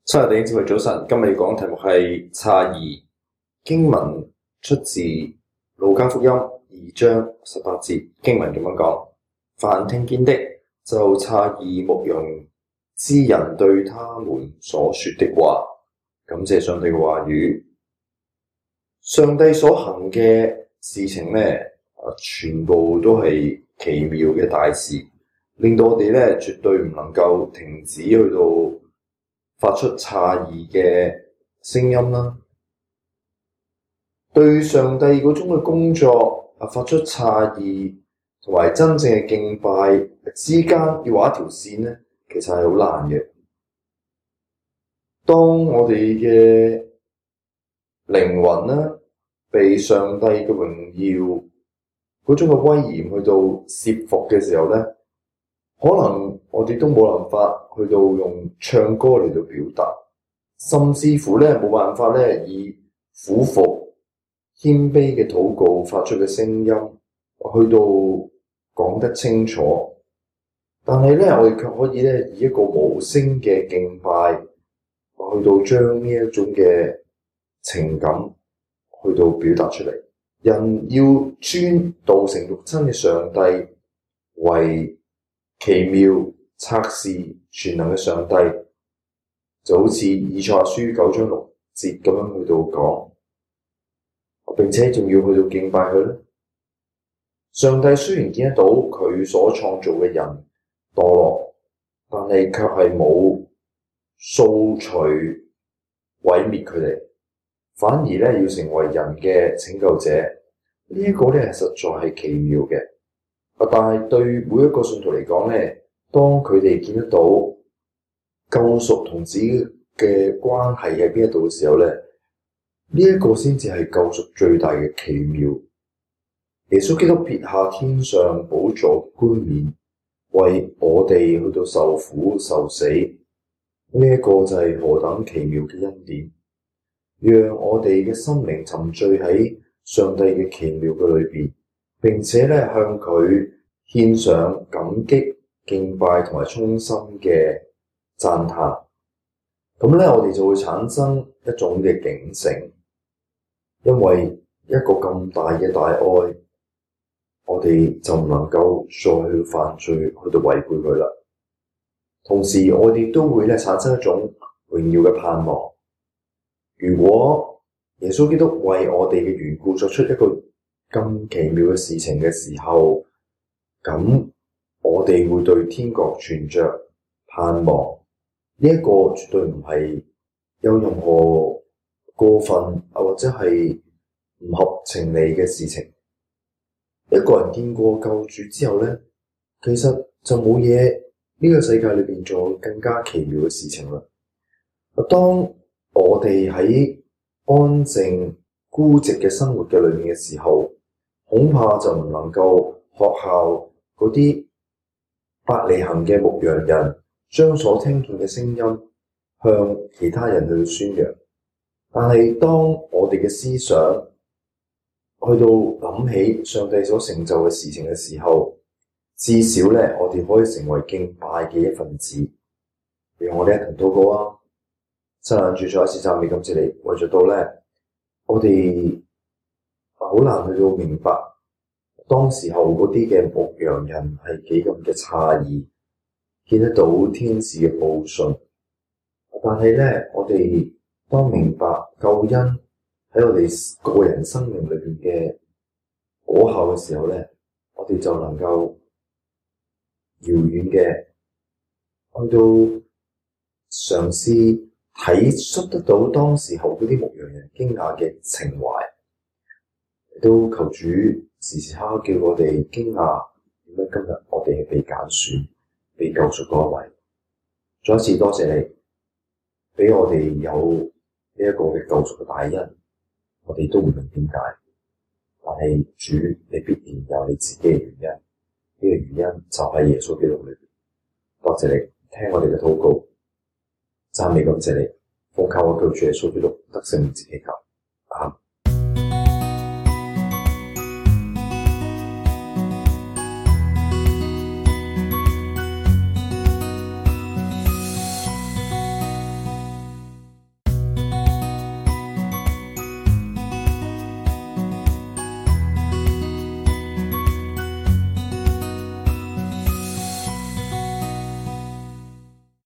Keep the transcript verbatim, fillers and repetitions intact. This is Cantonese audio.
親愛的弟兄姊妹早晨，今日要講嘅題目係詫異。經文出自路加福音二章十八節，經文咁樣講：凡聽見的就詫異牧羊之人對他們所說的話。感謝上帝嘅話語，上帝所行嘅事情呢，全部都係奇妙嘅大事，令到我哋呢絕對唔能夠停止去到發出詫異嘅聲音啦，對上帝嗰種嘅工作啊，發出詫異同埋真正嘅敬拜之間要畫一條線咧，其實係好難嘅。當我哋嘅靈魂咧被上帝嘅榮耀嗰種嘅威嚴去到懾服嘅時候咧，可能我哋都冇辦法去到用唱歌嚟到表達，甚至乎咧冇辦法咧以俯伏謙卑嘅禱告發出嘅聲音去到講得清楚。但係咧，我哋卻可以咧以一個無聲嘅敬拜去到將呢一種嘅情感去到表達出嚟。人要尊道成肉身嘅上帝為奇妙策士全能嘅上帝，就好似以賽亞書九章六節咁樣去到講，並且仲要去到敬拜佢咧。上帝雖然見得到佢所創造嘅人墮落，但係卻係冇掃除毀滅佢哋，反而咧要成為人嘅拯救者。這個、呢一個咧實在係奇妙嘅。但係對每一個信徒嚟講咧，當佢哋見得到救贖同自己嘅關係喺邊一度嘅時候咧，呢、這、一個先至係救贖最大嘅奇妙。耶穌基督撇下天上寶座冠冕，為我哋去到受苦受死，呢、這、一個就係何等奇妙嘅恩典，讓我哋嘅心靈沉醉喺上帝嘅奇妙嘅裏邊。並且咧向佢獻上感激、敬拜同埋衷心嘅讚嘆，咁咧我哋就會產生一種嘅警醒，因為一個咁大嘅大愛，我哋就唔能夠再去犯罪，去到違背佢啦。同時，我哋都會咧產生一種榮耀嘅盼望。如果耶穌基督為我哋嘅緣故作出一個咁奇妙嘅事情嘅時候，咁我哋會對天國存着盼望。呢、這、一個絕對唔係有任何過分啊，或者係唔合情理嘅事情。一個人見過救主之後咧，其實就冇嘢呢個世界裏邊仲有更加奇妙嘅事情啦。當我哋喺安靜孤寂嘅生活嘅裏面嘅時候，恐怕就唔能夠學效嗰啲伯利恆嘅牧羊人，將所聽見嘅聲音向其他人去宣揚。但係當我哋嘅思想去到諗起上帝所成就嘅事情嘅時候，至少咧我哋可以成為敬拜嘅一份子。讓我哋一同禱告啊！親愛主，再一次讚美感謝你，為咗到咧我哋好難去到明白當時候嗰啲嘅牧羊人係幾咁嘅詫異，見得到天使嘅報信。但係咧，我哋當明白救恩喺我哋個人生命裏邊嘅果效嘅時候咧，我哋就能夠遙遠嘅去到嘗試睇出得到當時候嗰啲牧羊人驚訝嘅情懷。都求主時時刻刻叫我哋驚訝，點解今日我哋係被揀選、被救贖嗰一位。再一次多謝你，俾我哋有呢一個嘅救贖嘅大恩，我哋都唔明點解，但係主你必然有你自己嘅原因，呢、這個原因就喺耶穌基督裏邊。多謝你聽我哋嘅禱告，讚美感謝你，奉靠我救主耶穌基督得勝名字祈求。